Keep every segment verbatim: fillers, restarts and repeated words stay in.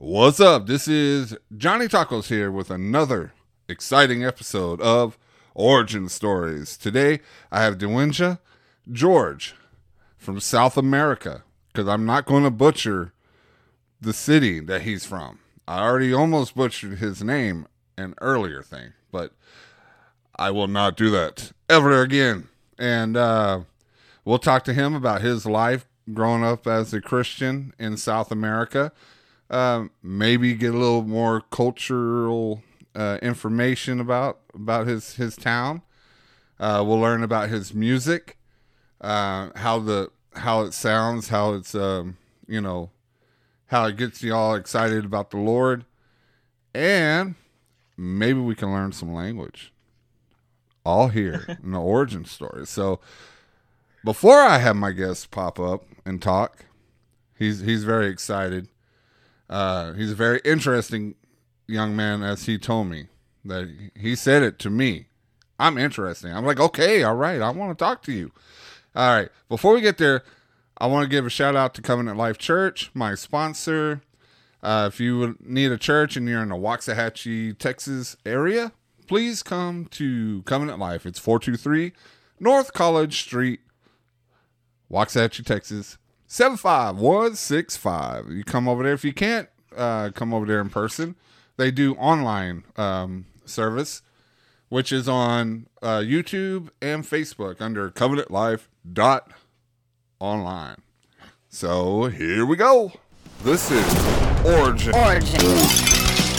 What's up? This is Johnny Tacos here with another exciting episode of Origin Stories. Today, I have Dewinja George from South America, because I'm not going to butcher the city that he's from. I already almost butchered his name an earlier thing, but I will not do that ever again. And uh, we'll talk to him about his life growing up as a Christian in South America. Um, maybe get a little more cultural uh, information about about his his town. Uh, we'll learn about his music, uh, how the how it sounds, how it's um, you know how it gets you all excited about the Lord, and maybe we can learn some language. All here in the origin story. So before I have my guests pop up and talk, he's he's very excited. Uh, he's a very interesting young man, as he told me. That he said it to me. I'm interesting. I'm like, okay, all right, I want to talk to you. All right, before we get there, I want to give a shout out to Covenant Life Church, my sponsor. Uh, if you would need a church and you're in the Waxahachie, Texas area, please come to Covenant Life. It's four two three North College Street, Waxahachie, Texas, seven five one six five. You come over there. If you can't uh, come over there in person, they do online um, service, which is on uh, YouTube and Facebook under covenant life dot online. So here we go. This is Origin. Origin.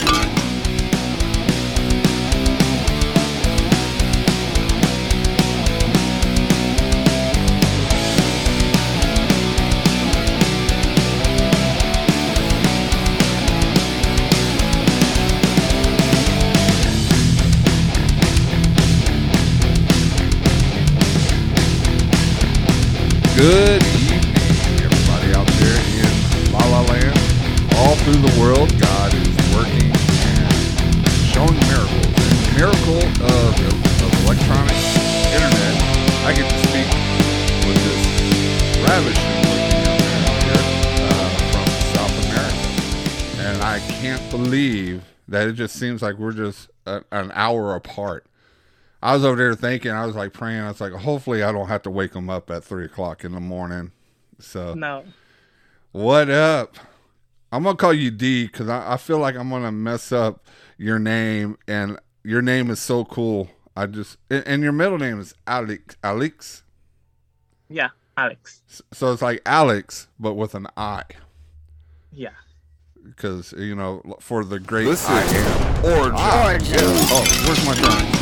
Good evening, everybody out there in La La Land. All through the world, God is working and showing miracles. And the miracle of, of electronic internet, I get to speak with this ravishing looking young man here uh, from South America. And I can't believe that it just seems like we're just a, an hour apart. I was over there thinking, I was like praying. I was like, hopefully I don't have to wake him up at three o'clock in the morning. So, no. What up? I'm going to call you D because I, I feel like I'm going to mess up your name. And your name is so cool. I just, and, and your middle name is Alex. Alex? Yeah, Alex. So it's like Alex, but with an I. Yeah. Because, you know, for the great This I is am. Origin. Ah, Origin. yeah. Oh, where's my drum?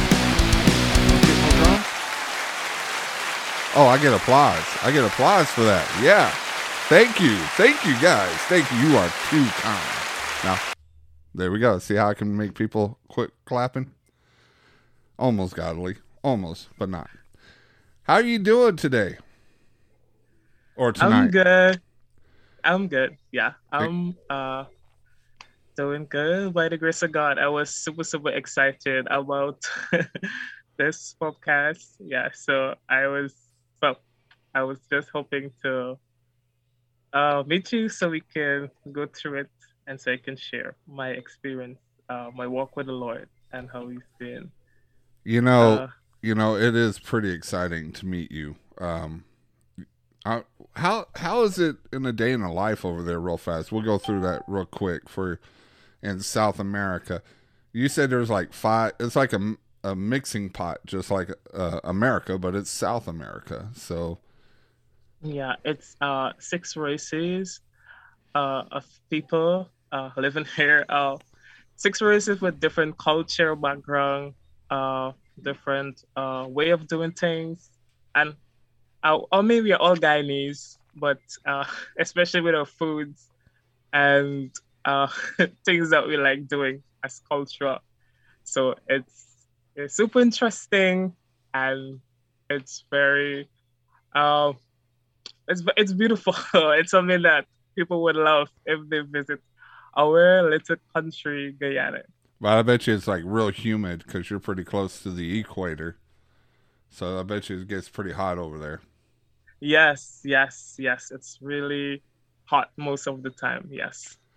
Oh, I get applause. I get applause for that. Yeah. Thank you. Thank you, guys. Thank you. You are too kind. Now, there we go. See how I can make people quit clapping? Almost godly. Almost, but not. How are you doing today? Or tonight? I'm good. I'm good. Yeah. I'm uh doing good by the grace of God. I was super, super excited about this podcast. Yeah. So I was Well, I was just hoping to uh, meet you so we can go through it and so I can share my experience, uh, my walk with the Lord and how He's been. You know, Uh, you know, it is pretty exciting to meet you. Um, I, how how is it in a day in the life over there? Real fast, we'll go through that real quick for in South America. You said there's like five. It's like a a mixing pot, just like uh, America, but it's South America. So yeah, it's uh, six races uh, of people uh, living here. Uh, six races with different culture, background, uh, different uh, way of doing things, and uh, or maybe we're all Guyanese, but uh, especially with our foods and uh, things that we like doing as culture. So it's It's super interesting and it's very, uh, it's it's beautiful. It's something that people would love if they visit our little country, Guyana. but I bet you it's like real humid because you're pretty close to the equator. So I bet you it gets pretty hot over there. Yes, yes, yes. It's really hot most of the time. Yes.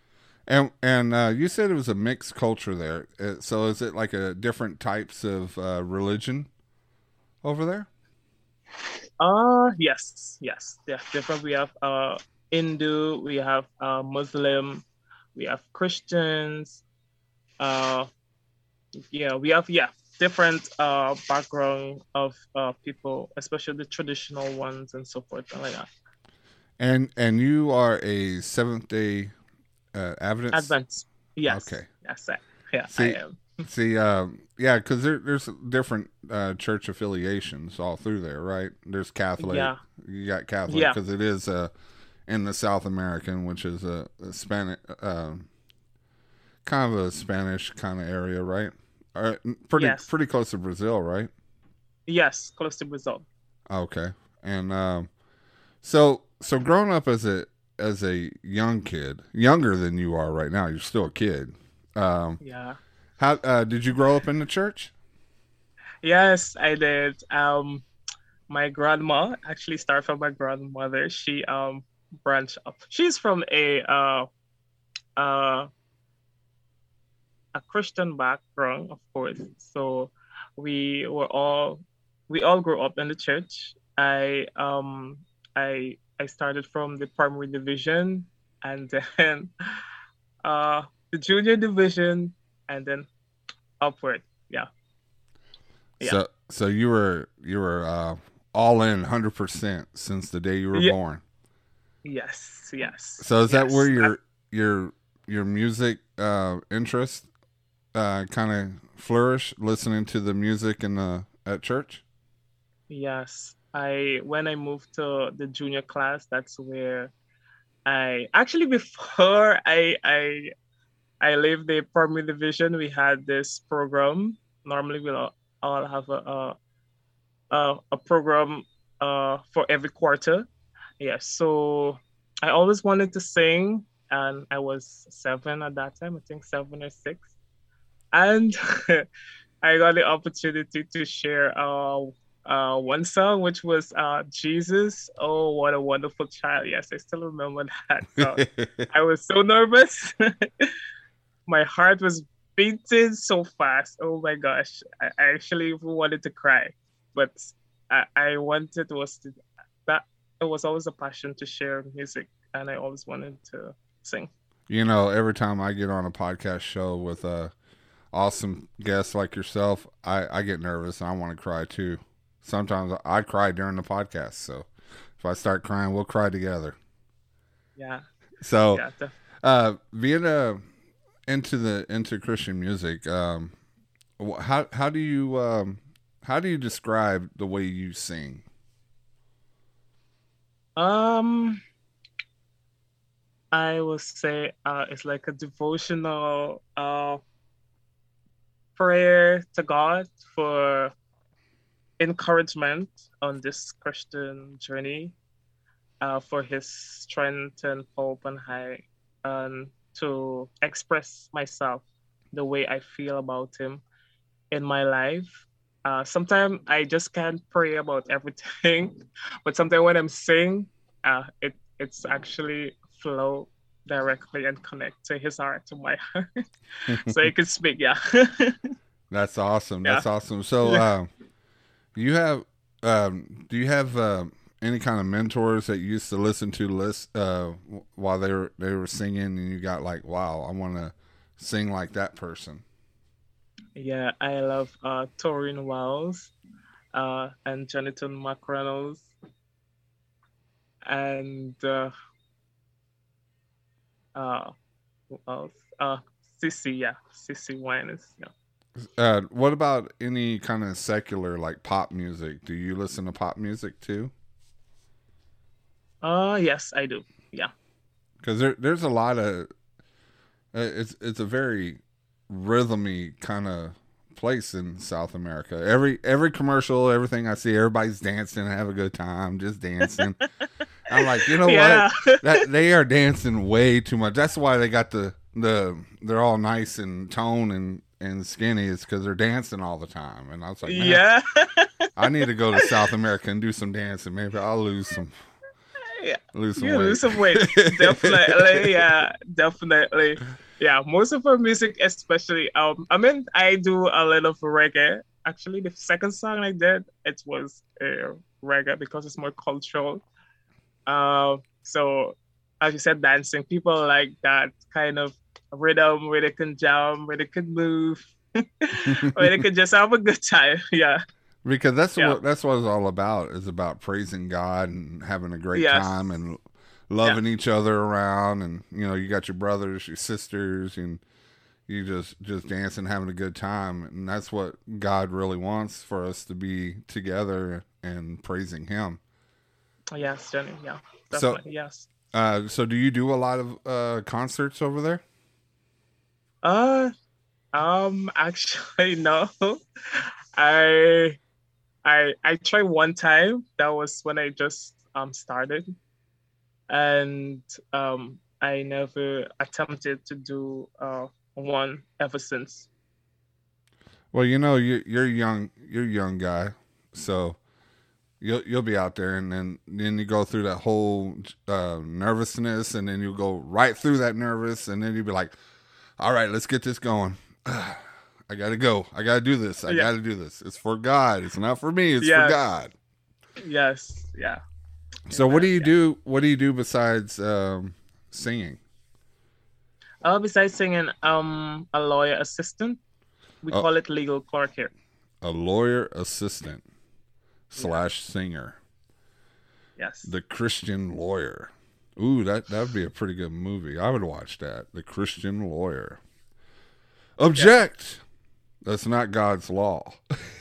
And and uh, you said it was a mixed culture there. Uh, So is it like a different types of uh, religion over there? Uh yes, yes, yeah. Different. We have uh Hindu, we have uh Muslim, we have Christians. Uh yeah, we have yeah different uh background of uh people, especially the traditional ones and so forth and like that. And and you are a Seventh Day uh, Adventist. Advance. Yes, Okay. yes, I, yeah, I See, am. see, um, yeah, because there, there's different uh, church affiliations all through there, right? There's Catholic. Yeah, You got Catholic yeah, because it is uh, in the South American, which is a, a Spanish, uh, kind of a Spanish kind of area, right? Uh, pretty yes, pretty close to Brazil, right? yes. Close to Brazil. Okay, and um, so so growing up as a as a young kid, younger than you are right now, you're still a kid. Um, Yeah. how uh, did you grow up in the church? Yes, I did. Um, my grandma actually started from my grandmother. She um branched up. She's from a uh uh a Christian background, of course. So we were all we all grew up in the church. I um I I started from the primary division and then uh the junior division and then upward. Yeah. Yeah. So so you were you were uh, all in hundred percent since the day you were Yeah. born. Yes. Yes. So is that where Yes. I, your your your music uh, interest uh, kind of flourish? Listening to the music in the at church. yes. I when I moved to the junior class, that's where I actually before I I I leave the primary division, we had this program. Normally, we'll all have a a, a, a program uh, for every quarter. Yeah, so I always wanted to sing, and I was seven at that time, I think seven or six. And I got the opportunity to share uh, uh, one song, which was uh, Jesus. Oh, what a wonderful child. Yes, I still remember that song. I was so nervous. My heart was beating so fast. Oh my gosh. I, I actually wanted to cry. But I, I wanted was to, that it was always a passion to share music and I always wanted to sing. You know, every time I get on a podcast show with a awesome guest like yourself, I, I get nervous and I want to cry too. Sometimes I cry during the podcast, so if I start crying, we'll cry together. Yeah. So, Yeah. The, uh, being uh, into the into Christian music, um, wh- how how do you um, how do you describe the way you sing? um I will say uh it's like a devotional uh prayer to God for encouragement on this Christian journey, uh, for his strength and hope and high, and to express myself the way I feel about him in my life. Uh, sometimes I just can't pray about everything, but sometimes when I'm singing, uh, it it's actually flow directly and connect to his heart, to my heart, so he can speak. Yeah, That's awesome. yeah. That's awesome. So, uh, you have um, do you have uh, any kind of mentors that you used to listen to list uh, while they were they were singing, and you got like, wow, I want to sing like that person? Yeah, I love uh Torin Wells, uh and Jonathan McReynolds and uh uh who else? Uh Sissy, yeah. Sissy Winers. Yeah. Uh, what about any kind of secular like pop music? Do you listen to pop music too? Uh yes, I do. Yeah. Because there, there's a lot of uh, it's it's a very rhythmy kind of place in South America. Every every commercial, everything I see, everybody's dancing, have a good time, just dancing. I'm like, you know Yeah. what? That they are dancing way too much. That's why they got the the they're all nice and tone and and skinny. Is because they're dancing all the time. And I was like, man, Yeah. I need to go to South America and do some dancing. Maybe I'll lose some Yeah, Lose some yeah, weight. lose some weight. Definitely, yeah, definitely. Yeah, most of her music, especially, um, I mean, I do a little of reggae. Actually, the second song I did, it was uh, reggae because it's more cultural. Um, so as you said, dancing, people like that kind of rhythm where they can jump, where they can move, where they can just have a good time. Yeah, Because that's yeah, what that's what it's all about. Is about praising God and having a great yes, time and yeah, loving each other around. And you know, you got your brothers, your sisters, and you just just dancing, having a good time. And that's what God really wants for us to be together and praising Him. yes, Jenny, yeah, So, definitely, yes. uh, so do you do a lot of uh, concerts over there? Uh, um, actually, no. I I I tried one time. That was when I just um started, and um I never attempted to do uh one ever since. Well, you know, you, you're young. You're a young guy, so you'll you'll be out there, and then then you go through that whole uh, nervousness, and then you go right through that nervous, and then you'll be like, "All right, let's get this going. I gotta go. I gotta do this. I Yeah. gotta do this. It's for God. It's not for me. It's for Yes. God." Yes. Yeah. So, what do Amen. you Yeah. do? What do you do besides um, singing? Uh, besides singing, um, a lawyer assistant. We Oh, call it legal clerk here. a lawyer assistant Yeah. slash singer, Yes. the Christian lawyer. Ooh, that that would be a pretty good movie. I would watch that. The Christian lawyer. Object. That's not God's law.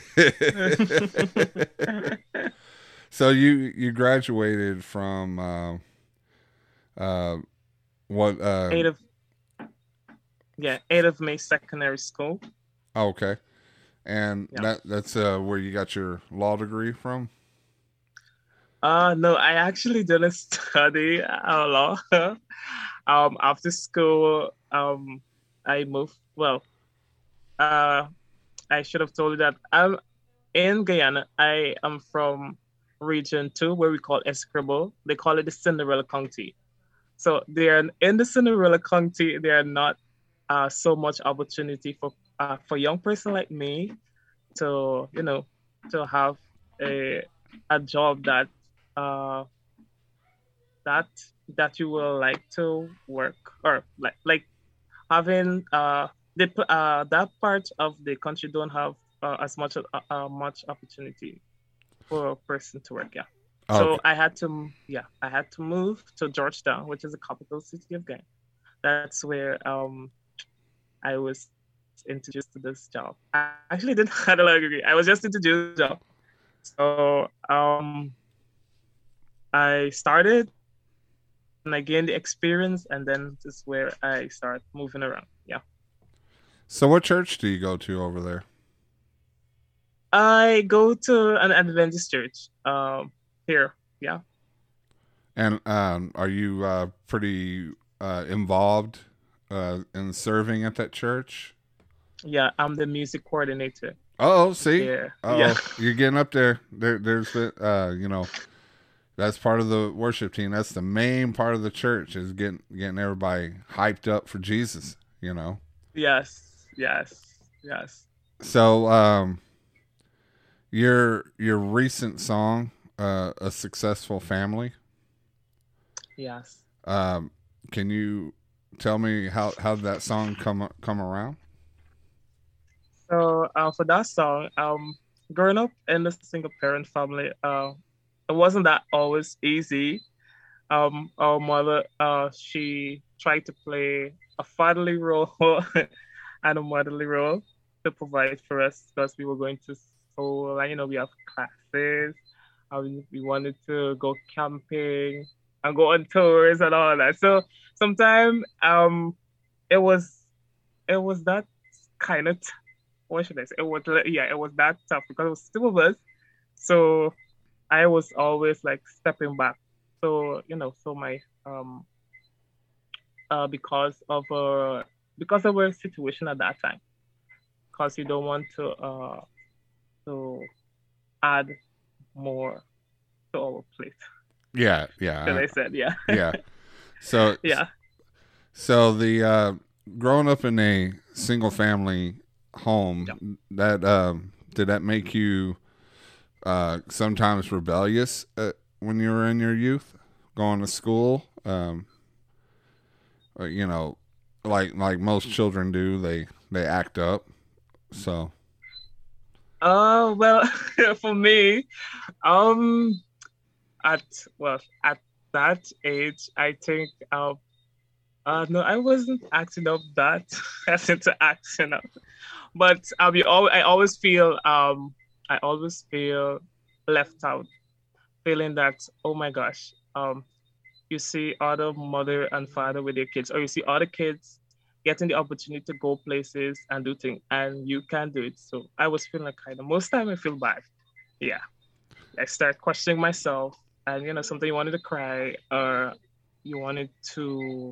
So you you graduated from uh, uh, what? Uh, eight of yeah, eight of May Secondary School. oh, okay, and Yeah. that that's uh, where you got your law degree from. Uh no, I actually didn't study uh, law. um, after school, um, I moved. Well, uh, I should have told you that I'm in Guyana. I am from Region Two, where we call Escribo. They call it the Cinderella County. So they are in the Cinderella County. There are not uh, so much opportunity for uh, for young person like me to you know to have a a job that uh, that that you will like to work or like like having uh the uh that part of the country don't have uh, as much uh, uh, much opportunity for a person to work. Yeah. Okay, So I had to yeah I had to move to Georgetown, which is the capital city of Ghana. That's where um I was introduced to this job. I actually didn't have a law degree. I was just introduced to the job. So um I started and I gained the experience, and then this is where I start moving around. Yeah. so what church do you go to over there? I go to an Adventist church um here. Yeah. And um, are you uh, pretty uh, involved uh, in serving at that church? Yeah, I'm the music coordinator Oh, see, there. Yeah. oh, you're getting up there. There, there's the, uh, you know, that's part of the worship team. That's the main part of the church is getting getting everybody hyped up for Jesus. You know. Yes. Yes. Yes. So, um, your your recent song, uh, "A Successful Family." Yes. Um, can you tell me how how did that song come come around? So uh, for that song, um, growing up in a single parent family, uh, it wasn't that always easy. Um, our mother, uh, she tried to play a fatherly role and a motherly role to provide for us because we were going to school and you know we have classes. Uh, we, we wanted to go camping and go on tours and all that. So sometimes um, it was it was that kind of what should I say? It was yeah, it was that tough because it was two of us. So I was always like stepping back. So you know, so my um uh because of uh because of our situation at that time, because you don't want to uh to add more to our plate. Yeah, yeah, Because I- I said, yeah, yeah. So, yeah. so the uh, growing up in a single family Yeah. home, that um, did that make you uh, sometimes rebellious uh, when you were in your youth, going to school? Um, uh, you know, like like most children do, they they act up. So, Uh, well, for me, um, at well, at that age, I think, uh, uh, no, I wasn't acting up that as into acting up, but I'll be all. I always feel, um, I always feel left out, feeling that, oh my gosh, um, you see other mother and father with their kids, or you see other kids getting the opportunity to go places and do things, and you can't do it. So I was feeling like kind of most time I feel bad. Yeah, I start questioning myself, and you know, something you wanted to cry, or you wanted to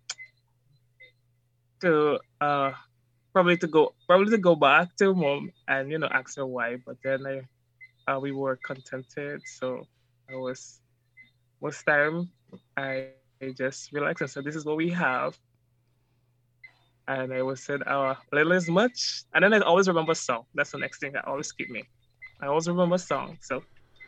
to uh probably to go probably to go back to mom and you know ask her why, but then I uh, we were contented, so I was most time I just relaxed and said, "This is what we have," and I was said, "Our little is much." And then I always remember song. That's the next thing that always keep me. I always remember song. So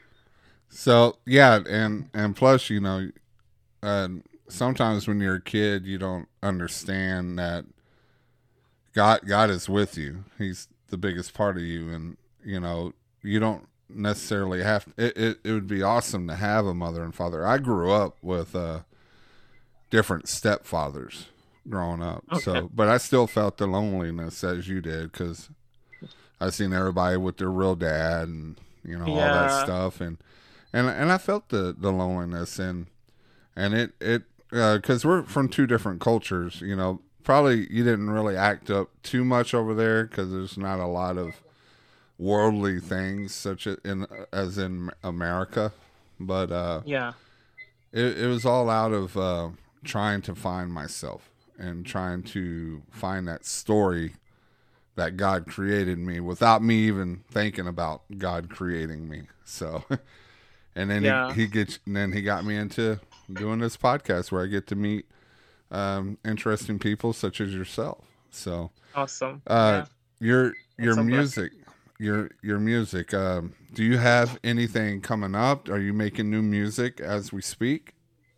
so yeah, and and plus, you know, uh, sometimes when you're a kid, you don't understand that God God is with you. He's the biggest part of you, and you know you don't necessarily have. It it, it would be awesome to have a mother and father. I grew up with uh, different stepfathers growing up, okay, so but I still felt the loneliness as you did because I seen everybody with their real dad and you know all that yeah, stuff, and and and I felt the the loneliness and and it it because uh, we're from two different cultures, you know. Probably you didn't really act up too much over there because there's not a lot of worldly things such as in as in America, but uh, yeah, it, it was all out of uh, trying to find myself and trying to find that story that God created me without me even thinking about God creating me. So, and then he yeah, he gets and then he got me into doing this podcast where I get to meet um, interesting people such as yourself. So, awesome. uh, Yeah, your your it's a blessing. music, your your music. Um, do you have anything coming up? Are you making new music as we speak?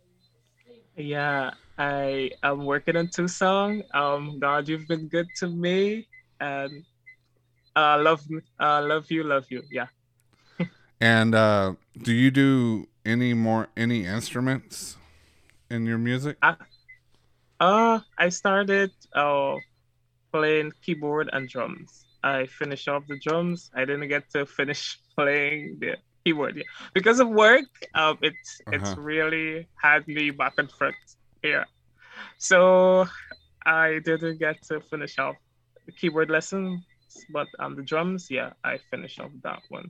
Yeah, I am working on two songs. Um, God, you've been good to me, and uh, love, me- uh, love you, love you. Yeah. And uh, do you do any more any instruments in your music? I, uh, I started uh playing keyboard and drums. I finished off the drums. I didn't get to finish playing the keyboard yet. Because of work. Um, it's Uh huh. it's really had me back and front here. So I didn't get to finish off the keyboard lessons, but um, the drums, yeah, I finished off that one.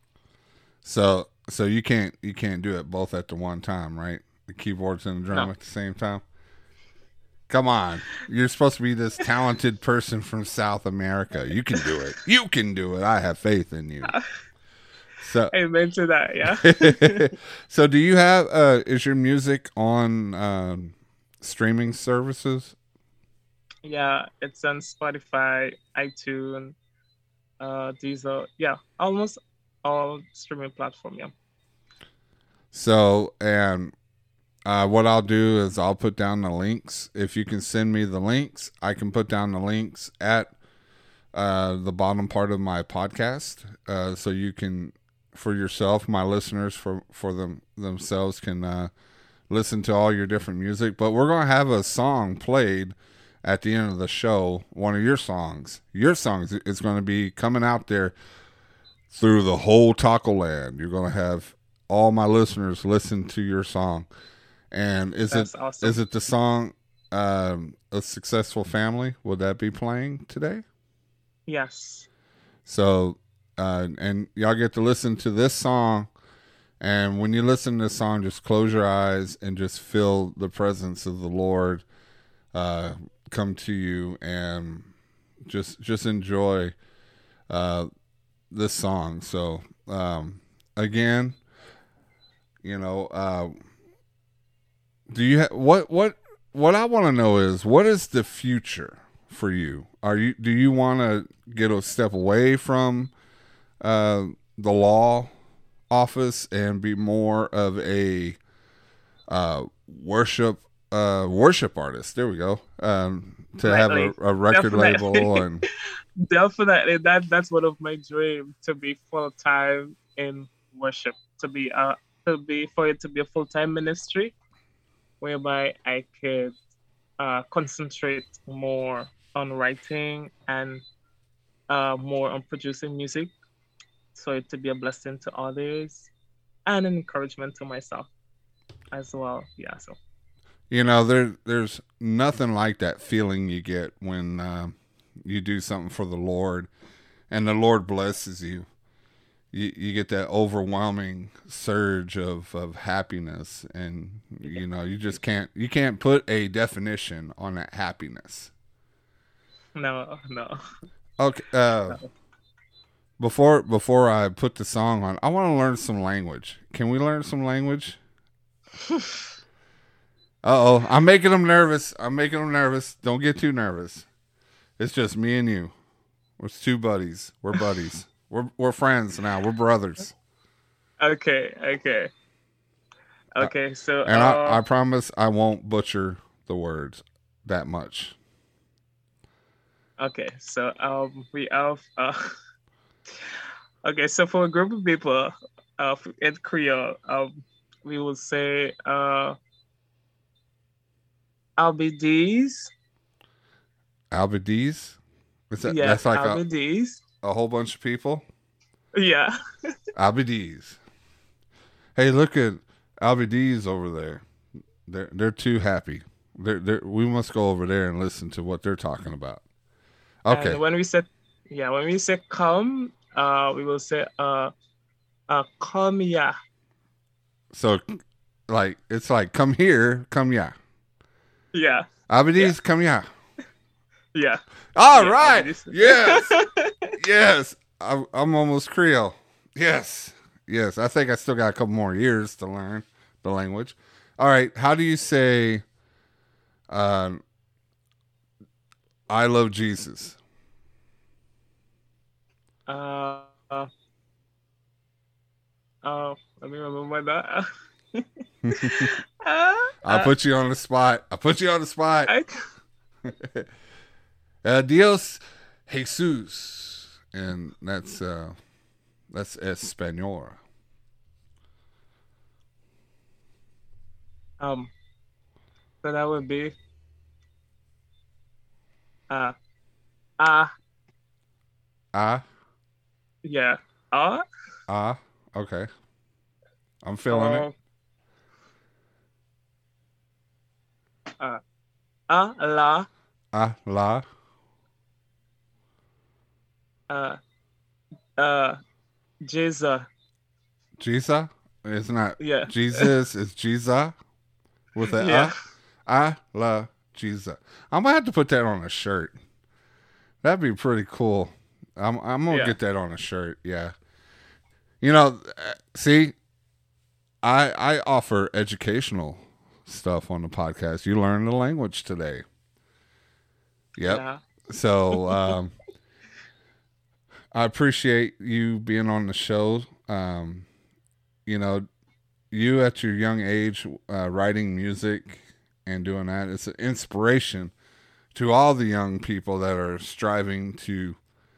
So so you can't you can't do it both at the one time, right? The keyboards and the drum No, at the same time. Come on. You're supposed to be this talented person from South America. You can do it. You can do it. I have faith in you. So amen to that. Yeah, so do you have uh is your music on um streaming services? yeah, it's on Spotify, iTunes, uh, Deezer. Yeah, almost all streaming platform. Yeah. So and uh, what I'll do is I'll put down the links. If you can send me the links, I can put down the links at uh, the bottom part of my podcast, uh, so you can, for yourself, my listeners, for for them themselves can uh, listen to all your different music. But we're gonna have a song played at the end of the show. One of your songs, your songs is going to be coming out there through the whole Taco Land. You're gonna have all my listeners listen to your song. And is it That's awesome. is it the song um, "A Successful Family"? Will that be playing today? Yes. So, uh, and y'all get to listen to this song. And when you listen to this song, just close your eyes and just feel the presence of the Lord uh, come to you, and just just enjoy uh, this song. So, um, again, You know, uh, do you ha- what what what I want to know is what is the future for you? Are you do you want to get a step away from uh, the law office and be more of a uh, worship uh, worship artist? There we go. Um, to have a, a record Definitely. label and Definitely, that that's one of my dreams, to be full time in worship, to be uh to be for it to be a full time ministry, whereby I could uh concentrate more on writing and uh more on producing music, so it to be a blessing to others and an encouragement to myself as well. Yeah, so you know there there's nothing like that feeling you get when uh, you do something for the Lord and the Lord blesses you. You, you get that overwhelming surge of, of happiness, and you know you just can't you can't put a definition on that happiness. no, no, Okay, uh, no. before before I put the song on, I want to learn some language. Can we learn some language? Uh oh, I'm making them nervous. I'm making them nervous. Don't get too nervous. It's just me and you. We're two buddies. We're buddies. We're we're friends now. We're brothers. Okay, okay, Uh, okay. So and I, uh I promise I won't butcher the words that much. okay, so um we have uh okay, so for a group of people uh in Creole, um we will say uh Albides. Albides? Is that Yeah, that's like a, Albides. a whole bunch of people? Yeah. Albides. Hey, look at Albides over there. They're they're too happy. They're, they're, we must go over there and listen to what they're talking about. Okay. And when we say yeah, when we say come, uh we will say uh uh come yeah. So like it's like come here, come yeah. Yeah. Albides, Yeah. come yeah. Yeah. All Yeah, right. Albides. Yes. Yes. I'm, I'm almost Creole. Yes. Yes. I think I still got a couple more years to learn the language. All right. How do you say um, I love Jesus? Uh, uh, uh, let me remember that. uh, I'll uh, put you on the spot. I'll put you on the spot. I, uh, Dios Jesus. And that's uh, that's Espanol. um, so that would be uh, ah, Ah, yeah, ah, ah. Okay. I'm feeling it. uh, uh, ah, la, Ah, la. uh, uh, Jesus, Jesus? It's not yeah, Jesus, it's Jesus with a yeah, uh. I love Jesus. I'm gonna have to put that on a shirt. That'd be pretty cool. I'm I'm gonna yeah, get that on a shirt. Yeah. You know, uh, see, I I offer educational stuff on the podcast. You learned the language today. Yep. yeah, So um, I appreciate you being on the show. Um, you know, you at your young age uh, writing music and doing that, it's an inspiration to all the young people that are striving to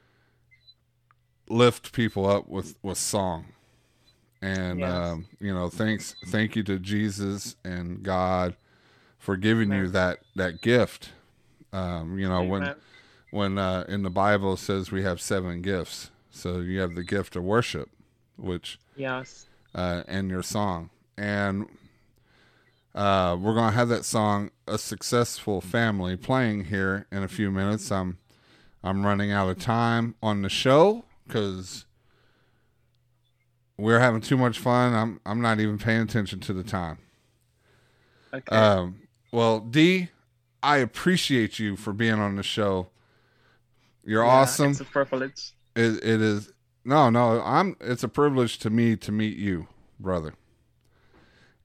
lift people up with, with song. And yes, um, you know, thanks thank you to Jesus and God for giving you amen, that that gift. Um, you know, when amen, when uh, in the Bible it says we have seven gifts. So you have the gift of worship, which yes, uh, and your song. And uh, we're gonna have that song "A Successful Family" playing here in a few minutes. I'm I'm running out of time on the show because we're having too much fun. I'm I'm not even paying attention to the time. okay, Um, well, D, I appreciate you for being on the show. You're yeah, awesome. it's a privilege. It, it is no, no. I'm. It's a privilege to me to meet you, brother.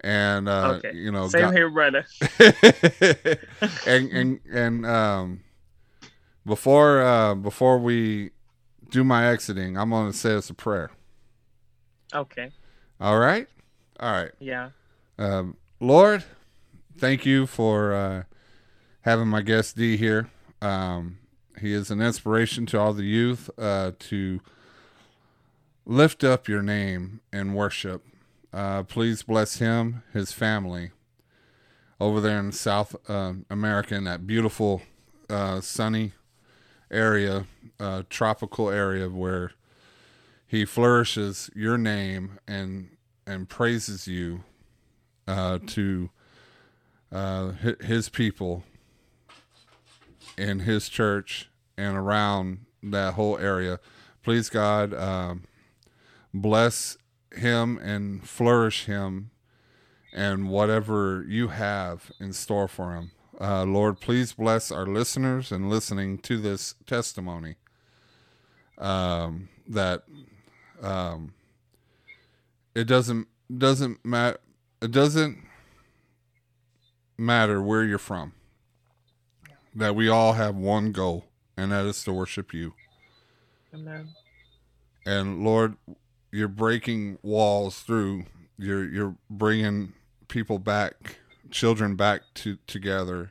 and uh, Okay. you know, Same got, here, brother. and and and um, before uh, before we do my exiting, I'm going to say us a prayer. Okay. All right, all right. Yeah. Um, Lord, thank you for uh, having my guest D here. Um, he is an inspiration to all the youth uh, to lift up your name and worship. Uh, please bless him, his family, over there in South uh, America, in that beautiful, uh, sunny area, uh, tropical area where he flourishes your name and and praises you uh, to uh, his people in his church and around that whole area. Please, God, um, bless him and flourish him and whatever you have in store for him. Uh, Lord, please bless our listeners and listening to this testimony. Um, that um, it doesn't doesn't matter. It doesn't matter where you're from. That we all have one goal, and that is to worship you. Amen. And Lord, you're breaking walls through. You're you're bringing people back, children back to together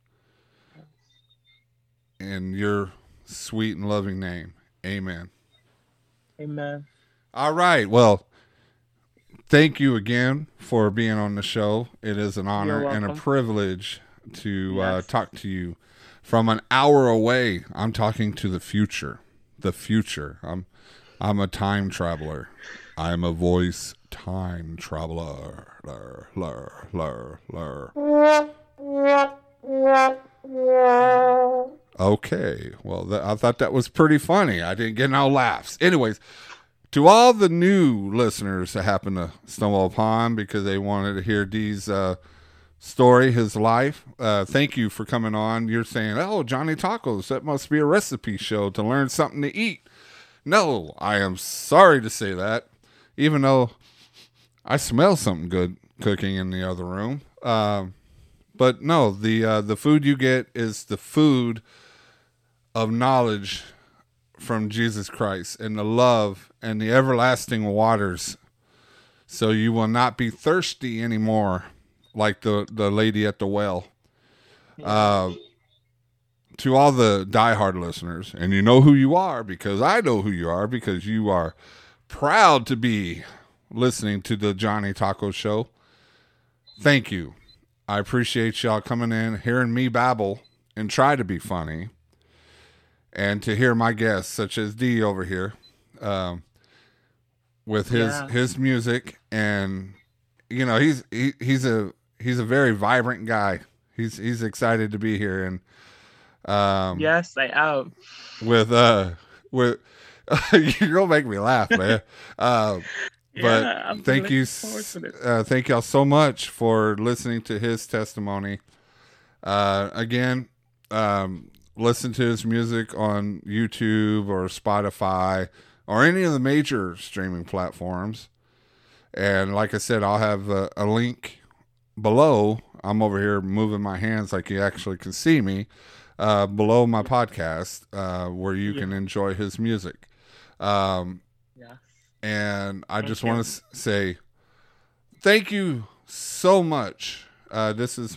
in your sweet and loving name. Amen. Amen. All right. Well, thank you again for being on the show. It is an honor and a privilege to yes. uh, talk to you from an hour away. I'm talking to the future. The future. I'm I'm a time traveler. I'm a voice time traveler. Lur, lur, lur, lur. Okay. Well, th- I thought that was pretty funny. I didn't get no laughs. Anyways, to all the new listeners that happen to stumble upon because they wanted to hear Dee's uh, story, his life, uh, thank you for coming on. You're saying, oh, Johnny Tacos, that must be a recipe show to learn something to eat. No, I am sorry to say that, even though I smell something good cooking in the other room. Uh, but no, the uh, the food you get is the food of knowledge from Jesus Christ and the love and the everlasting waters. So you will not be thirsty anymore like the, the lady at the well. Yeah. Uh, to all the diehard listeners, and you know who you are because I know who you are because you are proud to be listening to the Johnny Taco Show. Thank you. I appreciate y'all coming in, hearing me babble and try to be funny, and to hear my guests such as D over here um, with his yeah. his music, and you know he's he, he's a he's a very vibrant guy. He's he's excited to be here. And Um, yes, I am. With uh, with you're gonna make me laugh, man. Uh, but yeah, I'm thank you, uh, thank y'all so much for listening to his testimony. Uh, again, um, listen to his music on YouTube or Spotify or any of the major streaming platforms. And like I said, I'll have a, a link below. I'm over here moving my hands like you actually can see me. Uh, below my podcast, uh, where you yeah. can enjoy his music. Um, yeah. And I thank just you. want to s- say thank you so much. Uh, this is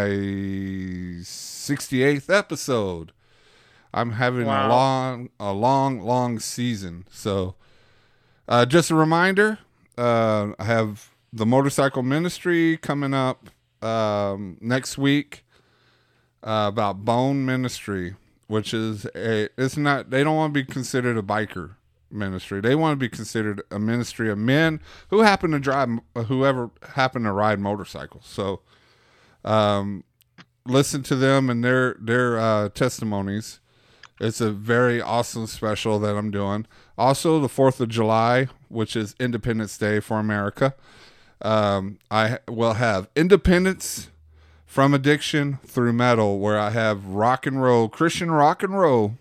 my sixty-eighth episode. I'm having wow. a long, a long, long season. So uh, just a reminder, uh, I have the Motorcycle Ministry coming up um, next week. Uh, about Bone Ministry, which is a, it's not, they don't want to be considered a biker ministry. They want to be considered a ministry of men who happen to drive, whoever happen to ride motorcycles. So, um, listen to them and their, their, uh, testimonies. It's a very awesome special that I'm doing. Also, the fourth of July, which is Independence Day for America. Um, I will have Independence from Addiction Through Metal, where I have rock and roll, Christian rock and roll,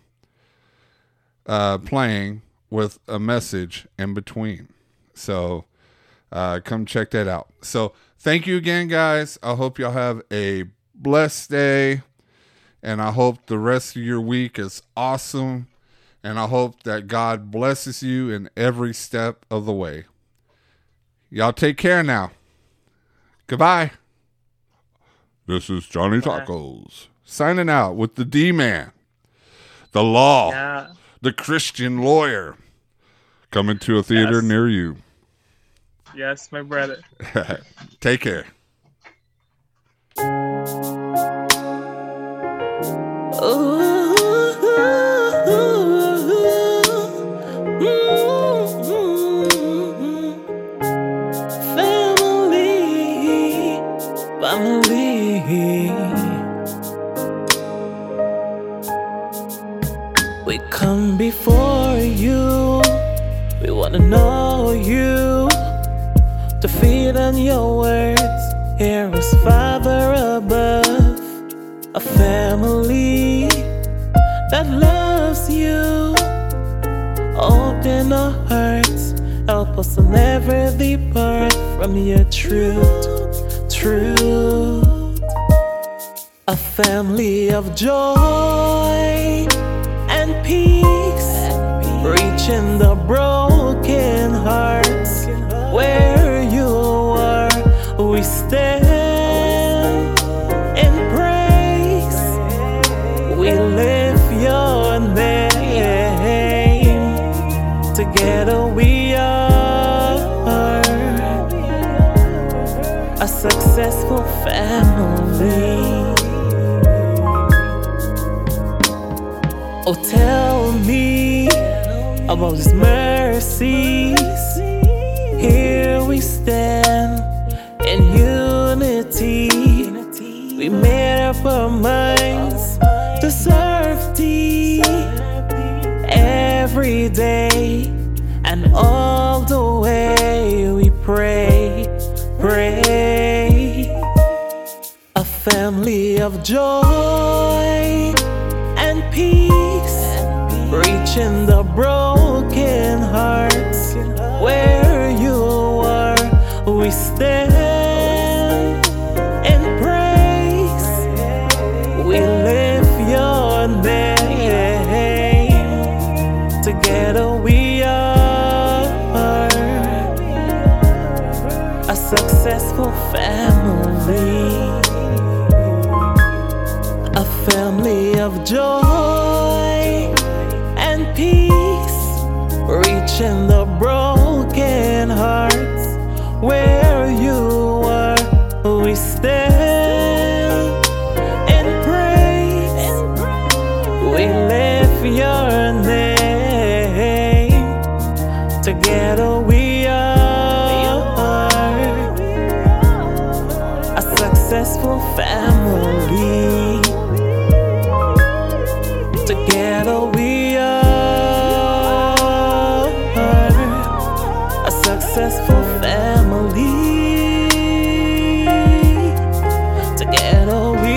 uh, playing with a message in between. So, uh, come check that out. So, Thank you again, guys. I hope y'all have a blessed day. And I hope the rest of your week is awesome. And I hope that God blesses you in every step of the way. Y'all take care now. Goodbye. This is Johnny Tacos signing out with the D-Man, the law, Yeah. the Christian lawyer, coming to a theater Yes. near you. Yes, my brother. Take care. Family, family. We come before you. We wanna know you. To feed on your words. Here is Father above. A family that loves you. Open our hearts, help us to never depart from your truth, truth. A family of joy and peace, reaching the broken hearts. Where you are, we stand in praise. We lift your name. Together we are a successful family. Oh, tell me about His mercies. Here we stand in unity. We made up our minds to serve Thee every day and all the way. We pray, pray. A family of joy and peace, reaching the broken hearts. Where you are, we stand in praise. We lift your name. Together we are a successful family. A family of joy and peace, reaching the broken hearts. Where you are, we stand in praise. We lift your name. Together we are a successful family. Together we are a successful family. Together we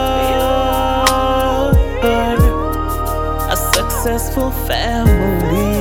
are a successful family.